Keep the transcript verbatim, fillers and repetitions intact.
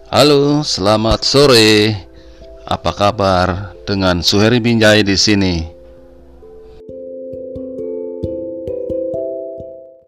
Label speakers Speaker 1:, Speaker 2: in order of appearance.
Speaker 1: Halo, selamat sore. Apa kabar? Dengan Suheri Binjai di sini.